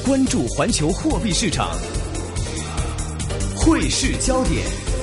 關注環球貨幣市場，匯市焦點。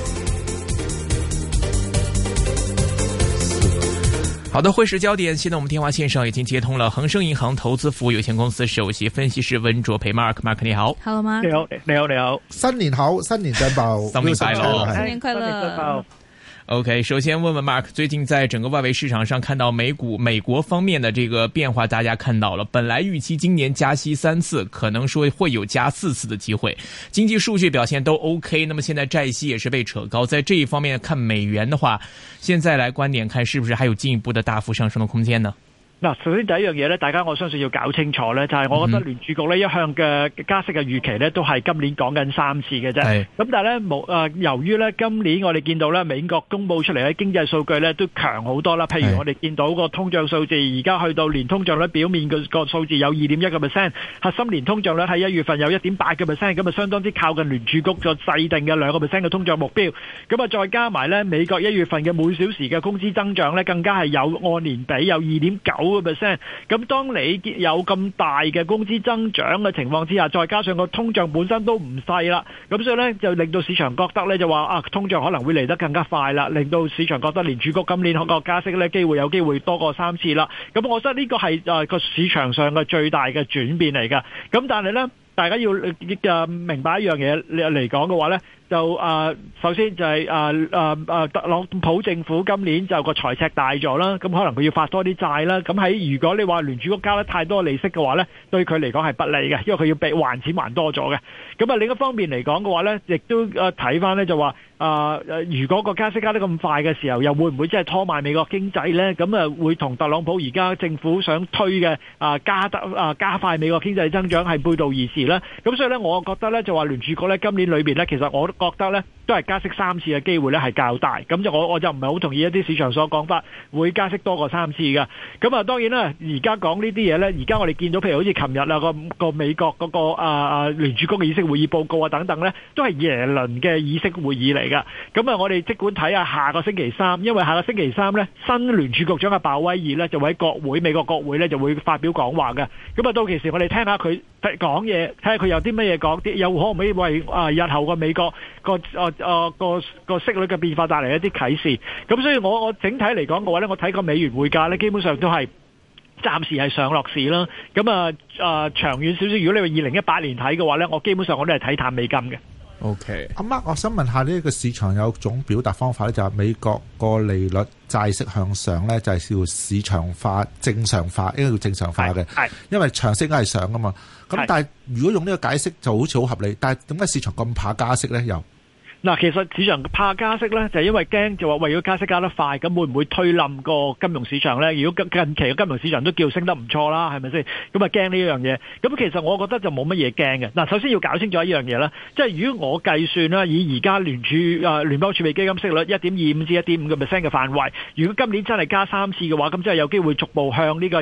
好的，匯市焦點。現在我們電話線上已經接通了恒生銀行投資服務有限公司首席分析師溫灼培 Mark 你好。 Hello Mark， 你好，新年好，新年進步， 新年快樂， 新年快樂。 OK， 首先問問 Mark， 最近在整個外圍市場上看到美國方面的這個變化，大家看到了，本來預期今年加息3次，可能說會有加4次的機會，經濟數據表現都 OK， 那麼現在債息也是被扯高，在這一方面看美元的話，現在來觀點看是不是還有進一步的大幅上升的空間呢？ 嗱，首先第一樣嘢咧，大家我相信要搞清楚咧，就係我覺得聯儲局咧一向嘅加息嘅預期咧，都係今年講緊3次嘅啫。咁但係咧由於咧今年我哋見到咧美國公佈出嚟嘅經濟數據咧都強好多啦，譬如我哋見到個通脹數字而家去到年通脹率表面個數字有 2.1%， 核心年通脹率喺1月份有 1.8%， 咁啊相當之靠近聯儲局個制定嘅2%嘅通脹目標。咁啊再加埋咧美國1月份嘅每小時嘅工資增長咧，更加係有按年比有 2.9%。咁當你有咁大嘅工資增長嘅情況之下，再加上個通脹本身都唔細啦，咁所以呢，就令到市場覺得呢，就話通脹可能會嚟得更加快啦，令到市場覺得聯儲局今年個加息呢有機會多過3次啦。咁我覺得呢個係個市場上嘅最大嘅轉變嚟㗎。咁但係呢，大家要明白一樣嘢嚟講嘅話呢，就首先就係特朗普政府今年就個財赤大咗啦，咁可能佢要發多啲債啦。咁喺如果你話聯儲局加得太多利息嘅話呢，對佢嚟講係不利嘅，因為佢要被還錢還多咗嘅。咁啊另一方面嚟講嘅話呢，亦都睇翻呢就話如果個加息加得咁快嘅時候，又會唔會真係拖慢美國經濟呢？咁啊會同特朗普而家政府想推嘅加快美國經濟增長係背道而馳啦。咁所以呢，我覺得呢就話聯儲局呢今年裏邊呢，其實我覺得呢都係加息3次嘅機會呢係較大。咁就我就唔係好同意一啲市場所講法會加息多過3次嘅。咁啊當然啦，而家講呢啲嘢呢，而家我哋見到譬如好似琴日個美國嗰個聯儲局嘅議息會議報告啊等等呢，都係耶倫嘅議息會議嚟。咁啊，我哋即管睇下下個星期三，因為下個星期三呢，新聯儲局長嘅鮑威爾呢就會喺美國國會呢就會發表講話嘅。咁啊，到其時我哋聽下佢講嘢，睇下佢有啲乜嘢講，又可唔可以為日後個美國個息率嘅變化帶嚟一啲啟示。咁所以我整體嚟講嘅話呢，我睇個美元匯價呢，基本上都係暫時係上落市啦。咁長遠少少，如果你話2018年睇嘅話呢，我基本上我都係睇淡美金嘅。 OK， 阿媽，我想問下呢個市場有種表達方法咧，就係美國個利率債息向上咧，就係叫市場化、正常化，應該叫正常化嘅。係，因為長息應該係上噶嘛。咁但係如果用呢個解釋就好似好合理，但係點解市場咁怕加息咧？又？ 嗱，其實市場怕加息咧，就係因為驚就話為咗加息加得快，咁會唔會推冧個金融市場咧？如果近期嘅金融市場都叫升得唔錯啦，係咪先？咁啊驚呢樣嘢。咁其實我覺得就冇乜嘢驚嘅。嗱，首先要搞清楚一樣嘢啦，即係如果我計算啦，以而家聯邦儲備基金息率 1.25 至 1.5% 嘅範圍，如果今年真係加3次嘅話，咁即係有機會逐步向呢個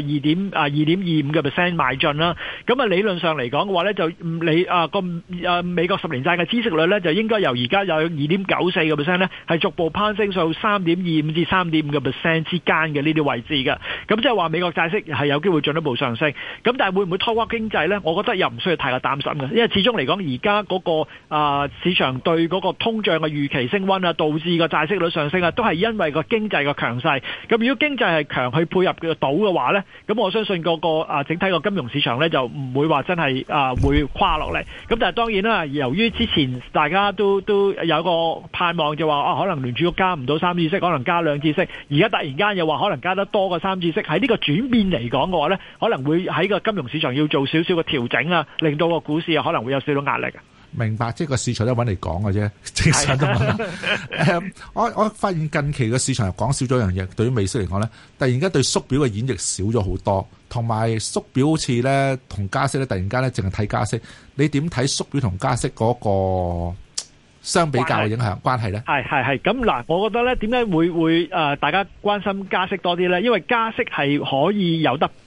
2.25% 邁進啦。咁啊理論上嚟講嘅話咧，就美國10年債嘅孳息率咧，就應該由而家有 2.94% 咧，係逐步攀升到 3.25 至 3.5% 之間嘅呢啲位置嘅。咁即係話美國債息係有機會進一步上升。咁但係會唔會拖垮經濟呢？我覺得又唔需要太過擔心嘅，因為始終嚟講而家嗰個市場對嗰個通脹嘅預期升溫啊，導致個債息率上升啊，都係因為個經濟嘅強勢。咁如果經濟係強去配合到嘅話呢，咁我相信嗰個整體個金融市場呢，就唔會話真係會垮落嚟。咁但係當然啦，由於之前大家都有個盼望就話可能聯儲局加唔到3次息，可能加2次息。而家突然間又話可能加得多過3次息，喺呢個轉變嚟講嘅話呢，可能會喺個金融市場要做少少嘅調整啊，令到個股市可能會有少少壓力。 明白，即係個市場都揾嚟講嘅啫，正常都問。我發現近期個市場又講少咗一樣嘢，對於美息嚟講呢，突然間對縮表嘅演繹少咗好多，同埋縮表好似呢同加息呢，突然間呢淨係睇加息。你點睇縮表同加息嗰個相比較嘅影響關係呢？ 係咁嗱，我覺得呢點解會大家關心加息多啲呢？因為加息係可以有得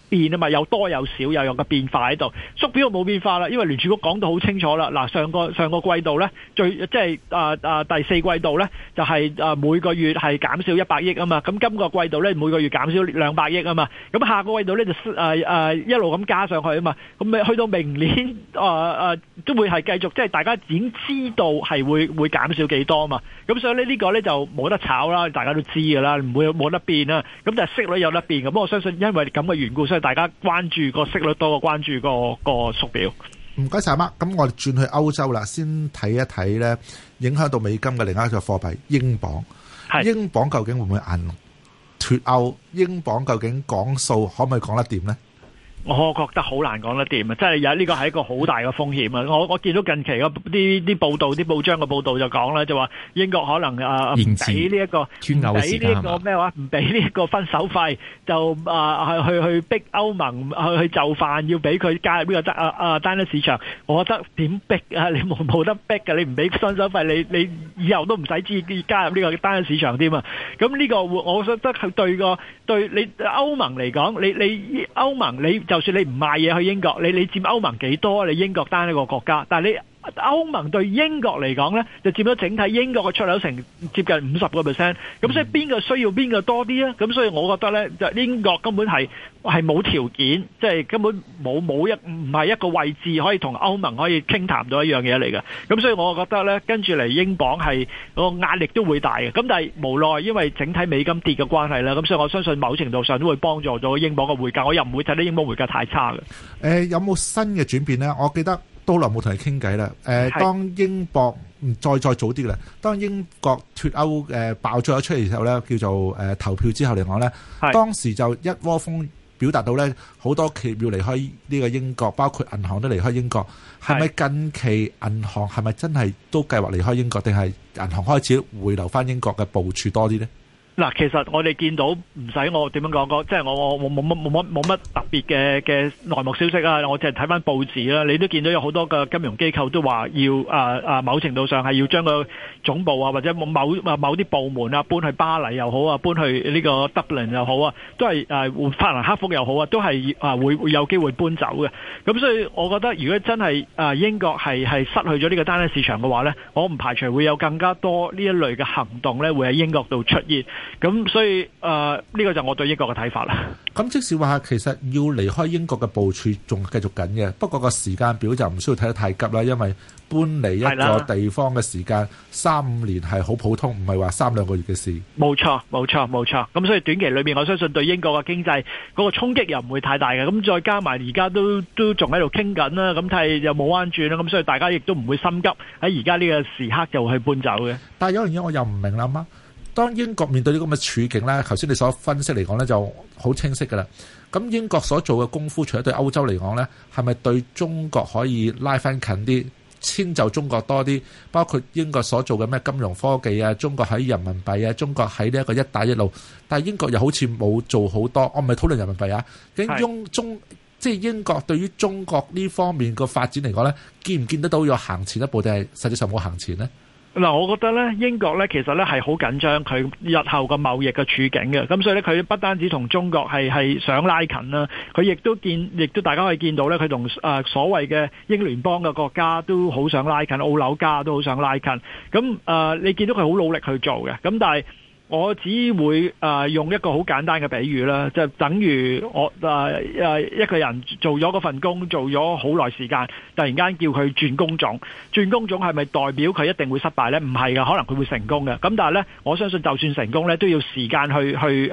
變啊嘛，有多有少，又有個變化喺度。縮表冇變化啦，因為聯儲局講到好清楚啦。嗱，上個季度咧，即係第四季度咧，就係每個月係減少100億啊嘛。咁今個季度咧，每個月減少200億啊嘛。咁下個季度咧就一路咁加上去啊嘛。咁去到明年都會係繼續，即係大家已經知道係會減少幾多啊嘛。咁所以呢個咧就冇得炒啦，大家都知㗎啦，冇得變啦。咁但係息率有得變。咁我相信因為咁嘅緣故，所以大家關注個息率多過關注個縮表。 唔該晒媽，咁我哋轉去歐洲啦，先睇一睇咧影響到美金嘅另一個貨幣英鎊。英鎊究竟會唔會硬脫歐？英鎊究竟講數可唔可以講得掂呢？ 我覺得好難講得掂啊！即係有呢個係一個好大嘅風險啊！我見到近期啲報道、啲報章嘅報道就講啦，就話英國可能唔俾呢一個咩話，唔俾呢一個分手費，就去逼歐盟去就範，要俾佢加入呢個單一市場。我覺得點逼啊？你冇得逼嘅，你唔俾分手費，你以後都唔使加入呢個單一市場添啊！咁呢個我覺得係對你歐盟嚟講，你歐盟你就算你唔賣嘢去英國，你佔歐盟幾多？你英國單一個國家，但係你歐盟對英國嚟講呢，就佔咗整體英國嘅出口成接近50%。咁所以邊個需要邊個多啲啊？咁所以我覺得呢，就英國根本係冇條件，即係根本唔係一個位置可以同歐盟可以傾談到一樣嘢嚟嘅。咁所以我覺得呢，跟住嚟英鎊係個壓力都會大嘅。咁但係無奈因為整體美金跌嘅關係啦，咁所以我相信某程度上都會幫助到英鎊嘅匯價。我又唔會睇到英鎊匯價太差嘅。 有冇新嘅轉變呢？我記得都耐冇同你傾偈啦。當英國再早啲嘅啦，當英國脫歐爆咗出嚟嘅時候咧，叫做投票之後嚟講咧，當時就一窩蜂表達到咧，好多企業要離開呢個英國，包括銀行都離開英國。係咪近期銀行係咪真係都計劃離開英國，定係銀行開始回流翻英國嘅部署多啲呢？ 嗱，其實我哋見到唔使我點樣講，即係我冇乜特別嘅內幕消息啊！我淨係睇翻報紙啦，你都見到有好多嘅金融機構都話要某程度上係要將個總部啊，或者某啲部門啊搬去巴黎又好啊，搬去呢個 Dublin 又好啊，都係法蘭克福又好啊，都係會有機會搬走嘅。咁所以我覺得如果真係英國係失去咗呢個單一市場嘅話呢，我唔排除會有更加多呢一類嘅行動呢會喺英國度出現。咁所以呢個就我對英國嘅睇法啦。咁即使話其實要離開英國嘅部署仲繼續緊嘅，不過個時間表就唔需要睇得太急啦，因為搬離一個地方嘅時間3-5年係好普通，唔係話3-2個月嘅事。冇錯。咁所以短期裏面我相信對英國嘅經濟嗰個衝擊又唔會太大嘅。咁再加埋而家都仲喺度傾緊啦，咁睇又冇彎轉啦，咁所以大家亦都唔會心急喺而家呢個時刻就去搬走嘅。但係有樣嘢我又唔明啦嘛。當英國面對呢個咁嘅處境咧，頭先你所分析嚟講咧就好清晰㗎啦。咁英國所做嘅功夫，除咗對歐洲嚟講咧，係咪對中國可以拉翻近啲，遷就中國多啲？包括英國所做嘅咩金融科技啊，中國喺人民幣啊，中國喺呢一個一帶一路，但係英國又好似冇做好多。我唔係討論人民幣啊，即係英國對於中國呢方面個發展嚟講咧，見唔見得到有行前一步，定係實際上冇行前呢？嗱，我覺得咧，英國咧其實咧係好緊張佢日後個貿易嘅處境嘅，咁所以咧佢不單止同中國係想拉近啦，佢亦都大家可以見到咧，佢同所謂嘅英聯邦嘅國家都好想拉近，澳紐加都好想拉近，咁你見到佢好努力去做嘅，咁但係我只會用一個好簡單嘅比喻啦，就等於我一個人做咗嗰份工，做咗好耐時間，突然間叫佢轉工種，係咪代表佢一定會失敗呢？唔係㗎，可能佢會成功嘅。咁但係呢，我相信就算成功呢，都要時間去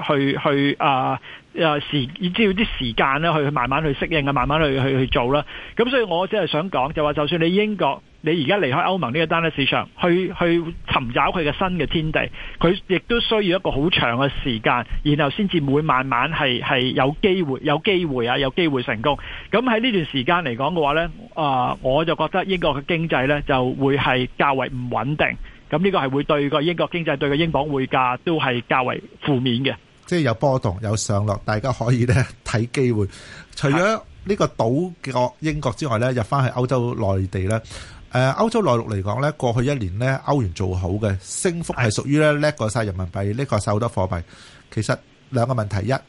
要啲時間咧，去慢慢去適應啊，慢慢去做啦。咁所以我只係想講，就話就算你英國，你而家離開歐盟呢個單一市場，去尋找佢嘅新嘅天地，佢亦都需要一個好長嘅時間，然後先至會慢慢係有機會成功。咁喺呢段時間嚟講嘅話呢，我就覺得英國嘅經濟呢就會係較為唔穩定。咁呢個係會對個英國經濟、對個英鎊匯價都係較為負面嘅。即係有波動有上落，大家可以咧睇機會。除咗呢個島國英國之外咧，入翻去歐洲內地咧，歐洲內陸嚟講咧，過去一年咧歐元做好嘅升幅係屬於咧叻過晒人民幣，叻過晒好多貨幣。其實兩個問題，一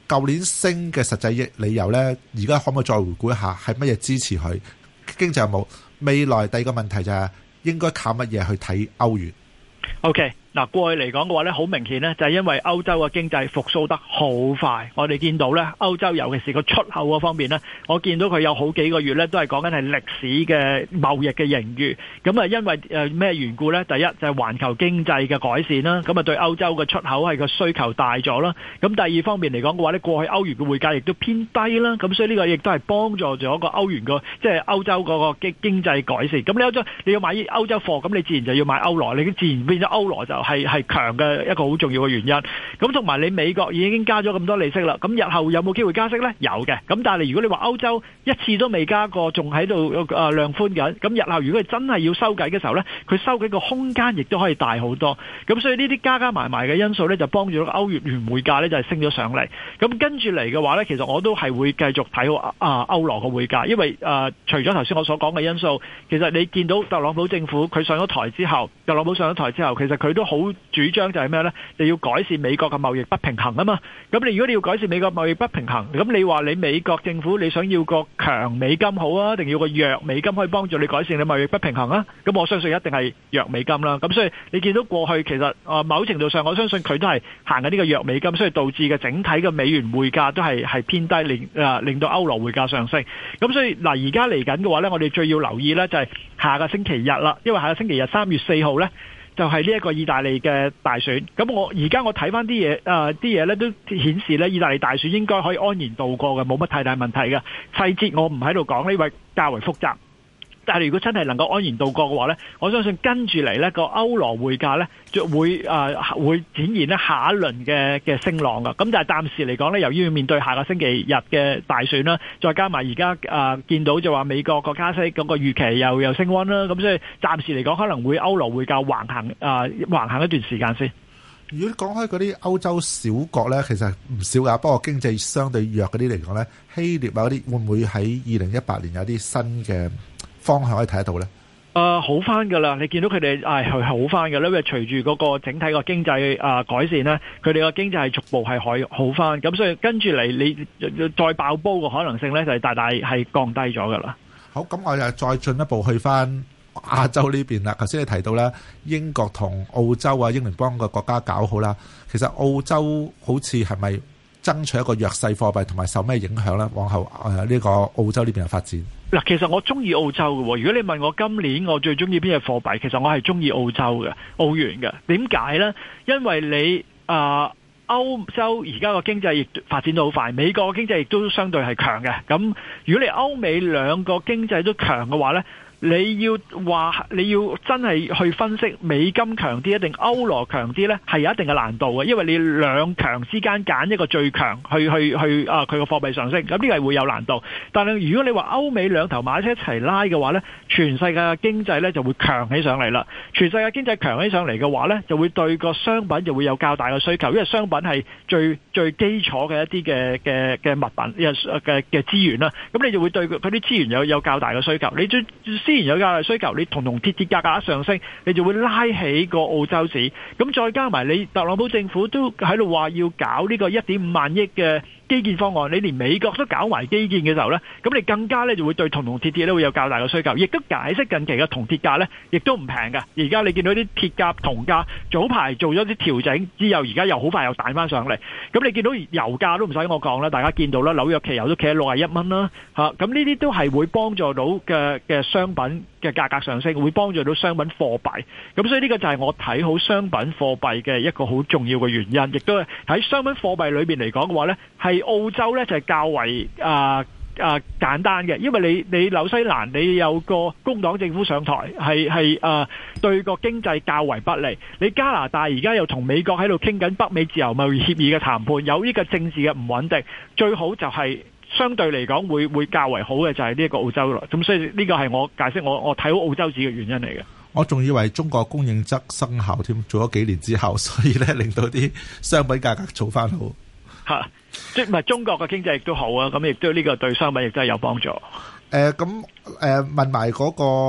舊年升嘅實際理由呢，而家可唔可以再回顧一下係乜嘢支持佢？經濟有冇？未來第二個問題就係應該靠乜嘢去睇歐元 ？OK。嗱，過去嚟講嘅話咧，好明顯咧，就係因為歐洲嘅經濟復甦得好快。我哋見到咧，歐洲尤其是個出口嗰方面咧，我見到佢有好幾個月咧，都係講緊係歷史嘅貿易嘅盈餘。咁啊，因為咩緣故咧？第一就係環球經濟嘅改善啦，咁啊對歐洲嘅出口係個需求大咗啦。咁第二方面嚟講嘅話咧，過去歐元嘅匯價亦都偏低啦，咁所以呢個亦都係幫助咗個歐元個即係歐洲嗰個經濟改善。咁你歐洲你要買歐洲貨，咁你自然就要買歐羅，你自然變咗歐羅就係強嘅一個好重要嘅原因，咁同埋你美國已經加咗咁多利息啦，咁日後有冇機會加息呢？有嘅，咁但係如果你話歐洲一次都未加過，仲喺度量寬緊，咁日後如果佢真係要收緊嘅時候呢，佢收緊個空間亦都可以大好多，咁所以呢啲加埋嘅因素呢，就幫助到歐元匯價呢，就係升咗上嚟，咁跟住嚟嘅話呢，其實我都係會繼續睇好歐羅嘅匯價，因為除咗頭先我所講嘅因素，其實你見到特朗普政府佢上咗台之後，其實佢都好主張就係咩呢？就要改善美國嘅貿易不平衡啊嘛。咁你如果你要改善美國貿易不平衡，咁你話你美國政府你想要個強美金好啊，定要個弱美金可以幫助你改善你貿易不平衡啊？咁我相信一定係弱美金啦。咁所以你見到過去其實某程度上，我相信佢都係行緊呢個弱美金，所以導致嘅整體嘅美元匯價都係偏低，令到歐羅匯價上升。咁所以嗱，而家嚟緊嘅話呢，我哋最要留意呢就係下個星期日啦，因為下個星期日3月4號呢。就係呢一個意大利嘅大選，咁我睇翻啲嘢咧都顯示咧，意大利大選應該可以安然度過嘅，冇乜太大問題嘅。細節我唔喺度講，呢位較為複雜。但係如果真係能夠安然度過嘅話呢，我相信跟住嚟呢個歐羅匯價呢，就會展現呢下一輪嘅升浪㗎。咁但係暫時嚟講呢，由於要面對下個星期日嘅大選啦，再加埋而家見到就話美國個加息嗰個預期又升溫啦，咁所以暫時嚟講可能會歐羅匯價橫行一段時間先。 如果講開嗰啲歐洲小國呢，其實唔少㗎，不過經濟相對弱嗰啲嚟講呢，希臘啊嗰啲會唔會喺2018年有啲新嘅方向可以睇得到呢？ 好翻噶啦，你見到佢哋係好翻噶啦，因為隨住嗰個整體個經濟改善呢，佢哋個經濟係逐步係可以好翻，咁所以跟住嚟你再爆煲嘅可能性呢，就係大大係降低咗噶啦。 好，咁我又再進一步去翻亞洲呢邊啦。頭先你提到啦，英國同澳洲啊，英聯邦個國家搞好啦，其實澳洲好似係咪爭取一個弱勢貨幣，同埋受咩影響呢？往後呢個澳洲呢邊嘅發展。 嗱，其實我中意澳洲嘅。如果你問我今年我最中意邊隻貨幣，其實我係中意澳洲嘅澳元嘅。點解呢？因為你歐洲而家個經濟亦發展到好快，美國嘅經濟亦都相對係強嘅。咁如果你歐美兩個經濟都強嘅話呢，你要真係去分析美金強啲定歐羅強啲呢，係有一定嘅難度嘅，因為你兩強之間揀一個最強去佢個貨幣上升，咁呢個係會有難度。但係如果你話歐美兩頭馬車一齊拉嘅話呢，全世界嘅經濟呢就會強起上嚟啦。全世界經濟強起上嚟嘅話呢，就會對個商品就會有較大嘅需求，因為商品係最基礎嘅一啲嘅物品嘅資源啦。咁你就會對佢啲資源有較大嘅需求。你資源有較大需求，你銅鐵價格一上升，你就會拉起個澳洲市。咁再加埋你特朗普政府都喺度話要搞呢個1.5萬億嘅基建方案，你連美國都搞埋基建嘅時候呢，咁你更加呢就會對銅鐵會有較大嘅需求，亦都解釋近期嘅銅鐵價呢亦都唔平㗎。而家你見到啲鐵價、銅價早排做咗啲調整之後，而家又好快又彈翻上嚟。咁你見到油價都唔使我講啦，大家見到啦，紐約期油都企喺61蚊啦，咁呢啲都係會幫助到嘅商品嘅價格上升，會幫助到商品貨幣。咁所以呢個就係我睇好商品貨幣嘅一個好重要嘅原因，亦都係喺商品貨幣裏邊嚟講嘅話呢，係澳洲呢就係較為簡單嘅，因為你紐西蘭你有個工黨政府上台，係對個經濟較為不利。你加拿大而家又同美國喺度傾緊北美自由貿易協議嘅談判，有呢個政治嘅唔穩定，最好就係相對嚟講會較為好嘅就係呢一個澳洲啦。咁所以呢個係我解釋我睇好澳洲紙嘅原因嚟嘅。 我仲以為中國供應側生效添，做咗幾年之後，所以咧令到啲商品價格做翻好。 嚇，即係唔係中國嘅經濟亦都好啊？咁亦都呢個對商品亦都係有幫助。 問埋嗰個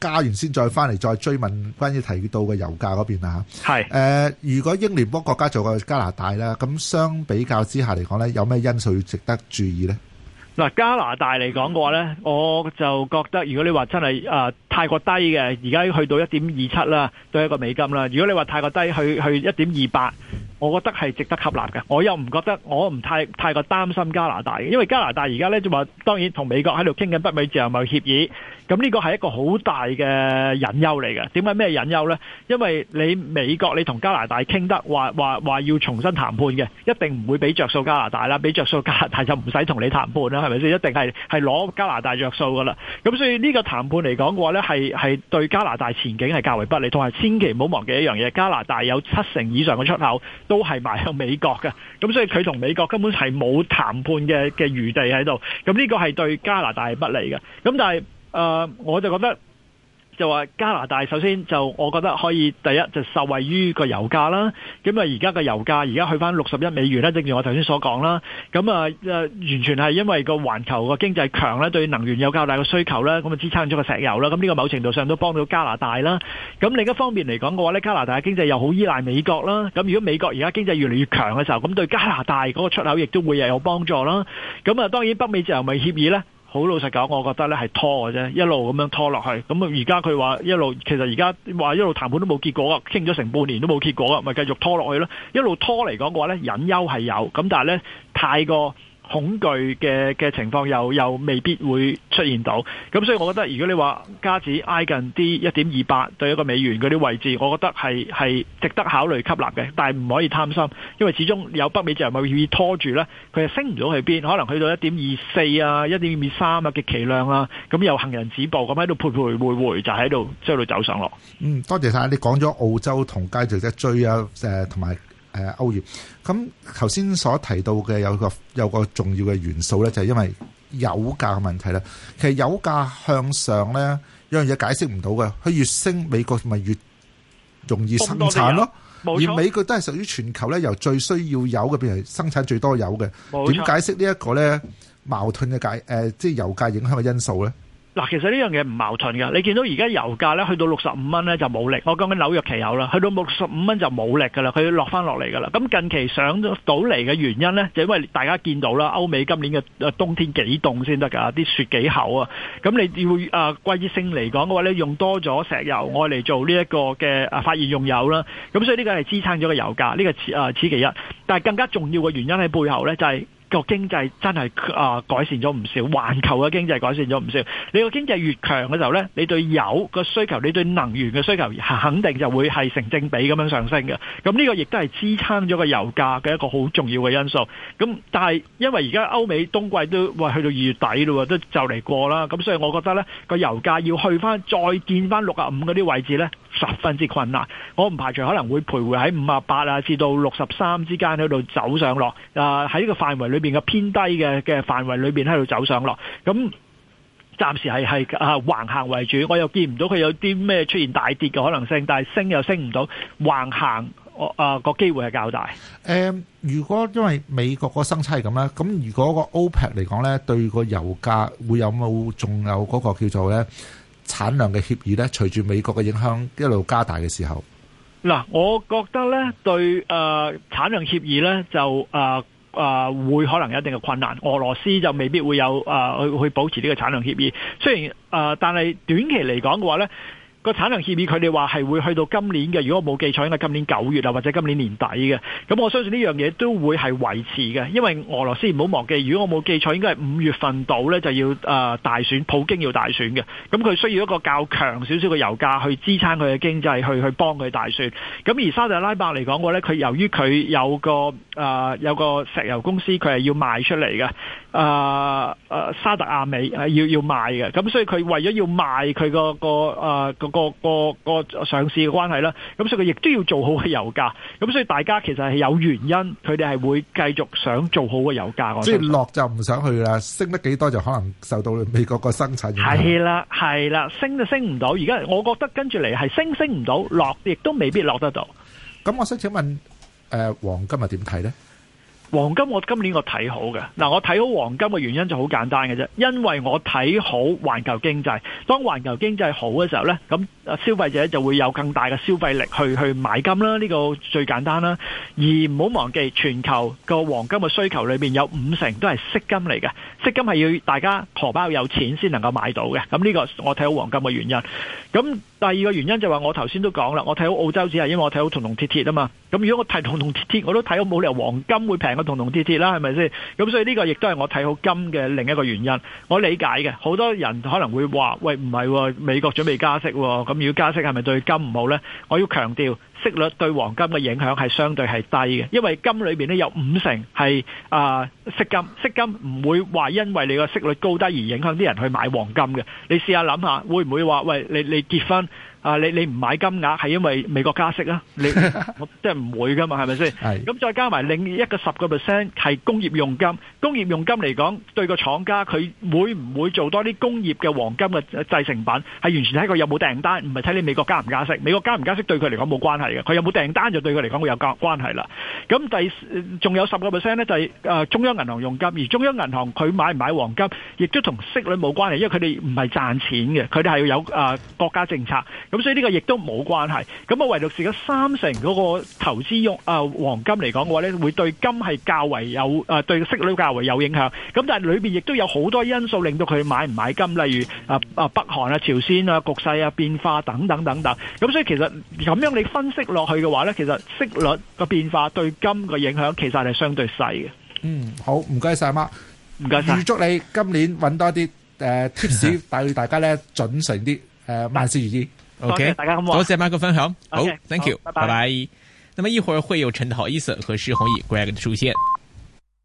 加完先再翻嚟再追問關於提到嘅油價嗰邊啊。 係如果英聯邦國家做過加拿大啦，咁相比較之下嚟講咧，有咩因素要值得注意咧？ 嗱，加拿大嚟講嘅話咧，我就覺得如果你話真係太過低嘅，而家去到 1.27 啦，對一個美金啦。如果你話太過低去 1.28，我覺得係值得吸納嘅。我又唔覺得，我唔太過擔心加拿大嘅，因為加拿大而家咧就話當然同美國喺度傾緊北美自由貿易協議，咁呢個係一個好大嘅隱憂嚟嘅。點解咩隱憂咧？因為你美國你同加拿大傾得話要重新談判嘅，一定唔會俾着數加拿大啦，俾着數加拿大就唔使同你談判啦，係咪先？一定係攞加拿大着數噶啦。咁所以呢個談判嚟講嘅話咧，係對加拿大前景係較為不利，同埋千祈唔好忘記一樣嘢，加拿大有70%以上嘅出口都係賣向美國嘅，咁所以佢同美國根本係冇談判嘅餘地喺度，咁呢個係對加拿大係不利嘅。咁但係我就覺得就話加拿大首先就我覺得可以第一就受惠於個油價啦，咁啊而家個油價而家去翻61美元啦，正如我頭先所講啦，咁完全係因為個環球個經濟強咧，對能源有較大嘅需求啦，咁啊支撐咗個石油啦，咁呢個某程度上都幫到加拿大啦。咁另一方面嚟講嘅話咧，加拿大嘅經濟又好依賴美國啦，咁如果美國而家經濟越嚟越強嘅時候，咁對加拿大嗰個出口亦都會有幫助啦。咁啊當然北美自由貿易協議咧，好老實講，我覺得咧係拖嘅啫，一路咁樣拖落去。咁而家佢話一路，其實而家話一路談判都冇結果啊，傾咗成半年都冇結果啊，咪繼續拖落去咯。一路拖嚟講嘅話咧，隱憂係有，咁但係咧太過恐懼嘅情況又未必會出現到。咁所以我覺得如果你話加指挨近啲 1.28 對一個美元嗰啲位置，我覺得係值得考慮吸納嘅，但係唔可以貪心，因為始終有北美自由貿易協議拖住咧，佢係升唔到去邊，可能去到 1.24 啊 1.23 啊極其量啊，咁又行人止步咁喺度徘徊回就喺度走上落。 多謝晒你講咗澳洲同街值得追啊，同埋歐元。咁頭先所提到嘅有個重要嘅元素咧，就係因為油價嘅問題咧。其實油價向上咧，有樣嘢解釋唔到嘅，佢越升，美國咪越容易生產咯。而美國都係屬於全球咧，由最需要油嘅變成生產最多油嘅。點解釋呢一個咧矛盾嘅即係油價影響嘅因素咧？ 嗱，其實呢樣嘢唔矛盾㗎。你見到而家油價咧去到65蚊咧就冇力，我講緊紐約期油啦，去到65蚊就冇力㗎啦，佢要落翻落嚟㗎啦。咁近期上到嚟嘅原因咧，就因為大家見到啦，歐美今年嘅冬天幾凍先得㗎，啲雪幾厚啊。咁你要季節性嚟講嘅話咧，用多咗石油愛嚟做呢一個嘅發現用油啦。咁所以呢個係支撐咗個油價，呢個此其一。但係更加重要嘅原因喺背後咧，就係個經濟真係改善咗唔少，環球嘅經濟改善咗唔少。你個經濟越強嘅時候呢，你對油個需求，你對能源嘅需求肯定就會係成正比咁樣上升嘅。咁呢個亦都係支撐咗個油價嘅一個好重要嘅因素。咁但係因為而家歐美冬季都去到2月底咯，都就嚟過啦。咁所以我覺得呢個油價要去翻再見翻65嗰啲位置呢，十分之困難。我唔排除可能會徘徊喺58啊至到63之間喺度走上落。喺呢個範圍裏邊嘅偏低嘅範圍裏邊喺度走上落，咁暫時係橫行為主，我又見唔到佢有啲咩出現大跌嘅可能性，但係升又升唔到，橫行個機會係較大。 如果因為美國個生產係咁啦，咁如果個 OPEC 嚟講咧，對個油價會有冇仲有嗰個叫做咧產量嘅協議咧？隨住美國嘅影響一路加大嘅時候， 嗱，我覺得咧對產量協議咧就會可能有一定嘅困難，俄羅斯就未必會有去保持呢個產量協議。雖然但係短期嚟講嘅話咧，個產量協議佢哋話係會去到今年嘅，如果我冇記錯應該今年9月啊，或者今年年底嘅。咁我相信呢樣嘢都會係維持嘅，因為俄羅斯唔好忘記，如果我冇記錯應該係5月份到呢就要大選，普京要大選嘅。咁佢需要一個較強少少嘅油價去支撐佢嘅經濟，去幫佢大選。咁而沙特阿拉伯嚟講嘅話呢，佢由於佢有個石油公司，佢係要賣出嚟嘅。沙特阿美要賣嘅，咁所以佢為咗要賣佢個上市嘅關係啦，咁所以佢亦都要做好嘅油價，咁所以大家其實係有原因，佢哋係會繼續想做好嘅油價。 即係落就唔想去啦，升得幾多就可能受到美國個生產影響。 係啦，升就升唔到。而家我覺得跟住嚟係升唔到，落亦都未必落得到。 咁我想請問黃金係點睇呢？ 黃金我今年我睇好嘅。嗱，我睇好黃金嘅原因就好簡單嘅啫，因為我睇好環球經濟。當環球經濟好嘅時候呢，咁消費者就會有更大嘅消費力去買金啦，呢個最簡單啦。而唔好忘記，全球個黃金嘅需求裏面有50%都係飾金嚟嘅，飾金係要大家荷包有錢先能夠買到嘅。咁呢個我睇好黃金嘅原因。咁第二個原因就話我頭先都講啦，我睇好澳洲只係因為我睇好銅銅鐵鐵啊嘛。咁如果我睇銅銅鐵鐵，我都睇好，冇理由黃金會平過銅銅鐵鐵啦，係咪先？咁所以呢個亦都係我睇好金嘅另一個原因。我理解嘅，好多人可能會話：喂，唔係喎，美國準備加息喎，咁如果加息係咪對金唔好呢？我要強調，息率對黃金嘅影響係相對係低嘅，因為金裏邊咧有50%係息金，息金唔會話因為你個息率高低而影響啲人去買黃金嘅。你試下諗下，會唔會話喂，你結婚你唔買金額係因為美國加息啊？你即係唔會噶嘛，係咪先？咁再加埋另一個10% 係工業用金，工業用金嚟講對個廠家佢會唔會做多啲工業嘅黃金嘅製成品，係完全睇佢有冇訂單，唔係睇你美國加唔加息。美國加唔加息對佢嚟講冇關係嘅，佢有冇訂單就對佢嚟講會有關係啦。咁仲有10% 咧就係中央銀行用金，而中央銀行佢買唔買黃金，亦都同息率冇關係，因為佢哋唔係賺錢嘅，佢哋係要有國家政策。咁所以呢個亦都冇關係。咁唯獨是嗰30%嗰個投資用黃金嚟講嘅話咧，會對金係較為有對息率較為有影響。咁但係裏邊亦都有好多因素令到佢買唔買金，例如北韓啊、朝鮮啊、局勢啊、變化等等等等。咁所以其實咁樣你分析落去嘅話咧，其實息率嘅變化對金嘅影響其實係相對細嘅。 好，唔該晒媽， 唔該晒。 預祝你今年揾多啲tips，帶大家咧準成啲萬事如意。 OK， 大家好， 多謝Mark分享。好 ，OK， ，Thank you，拜拜。那麼一會兒會有陳豪伊森和施宏毅 Greg 的出現。